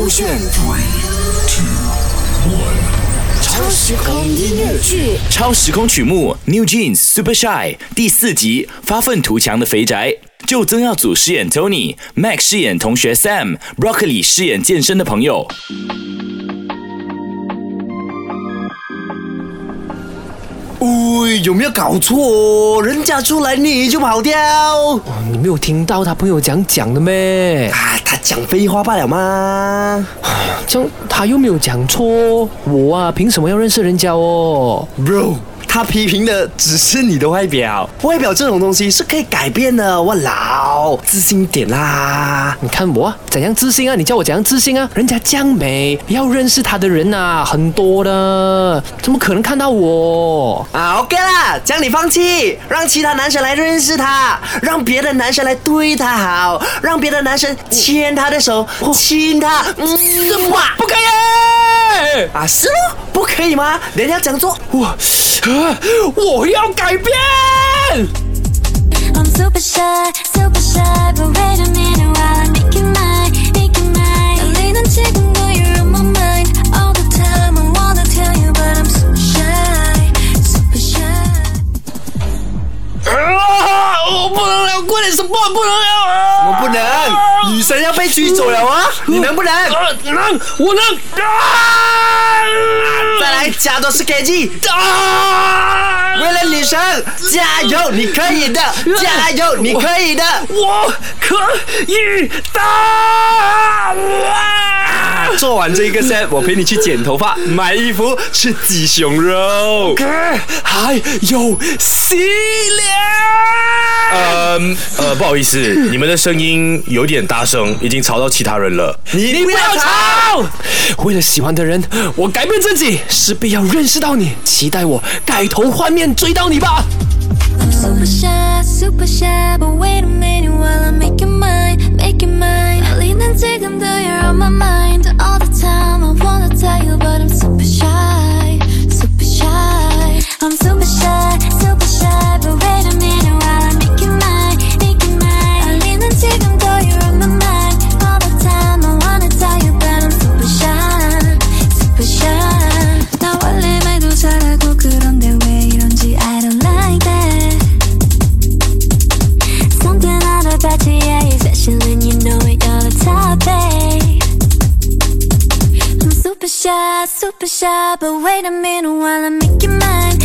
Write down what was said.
勾选超时空音乐剧， 超时空曲目 New Jeans Super Shy 第4集，发愤图强的肥宅。就曾耀祖饰演 Tony，Mac 饰演同学 Sam，Broccoli 饰演健身的朋友。 喂，有没有搞错？人家出来你就跑掉？ 你没有听到他朋友讲的咩？ 他讲废话罢了吗？ 这样他又没有讲错，我凭什么要认识人家哦 ？Bro， 他批评的只是你的外表，外表这种东西是可以改变的。我老自信点啦！ 你看我怎样自信啊？你叫我怎样自信啊？人家这样美，要认识他的人啊很多的，怎么可能看到我 ？OK 啦，这样你放弃，让其他男生来认识他，让别的男生来对他好，让别的男生牵他的手，亲他。哇， 不可以是咯，不可以吗？人家讲做我要改变。 I'm super shy, but wait a minute while I make it mine. 달리는 지금도 you're on my mind. All the time I wanna tell you, but I'm super shy. 我不能了，快点什么不能了？ 我不能，女神要被追走了啊！你能不能？ 能，我能。 再来加多skg。为了女神，加油，你可以的！加油，你可以的！ 我可以的！ 做完这一个 set， 我陪你去剪头发、买衣服、吃鸡胸肉， 还有洗脸。不好意思，你们的声音有点大声，已经吵到其他人了。 你不要吵！为了喜欢的人，我改变自己，势必要认识到你，期待我改头换面追到你吧。 I'm super shy, but wait a minute while I make it mine. 달리는 지금도 you're on my mind. All the time I wanna tell you, but I'm super shy. I'm super shy, but wait a minute while I make it mine. 달리는 지금도 you're on my mind. All the time I wanna tell you, but I'm super shy. 나 원래 말도 잘하고 그런데 왜 이런지 I don't like that. Something about you, yeah, you're special and you know it, you're the top, babe. I'm super shy, but wait a minute while I make it mine.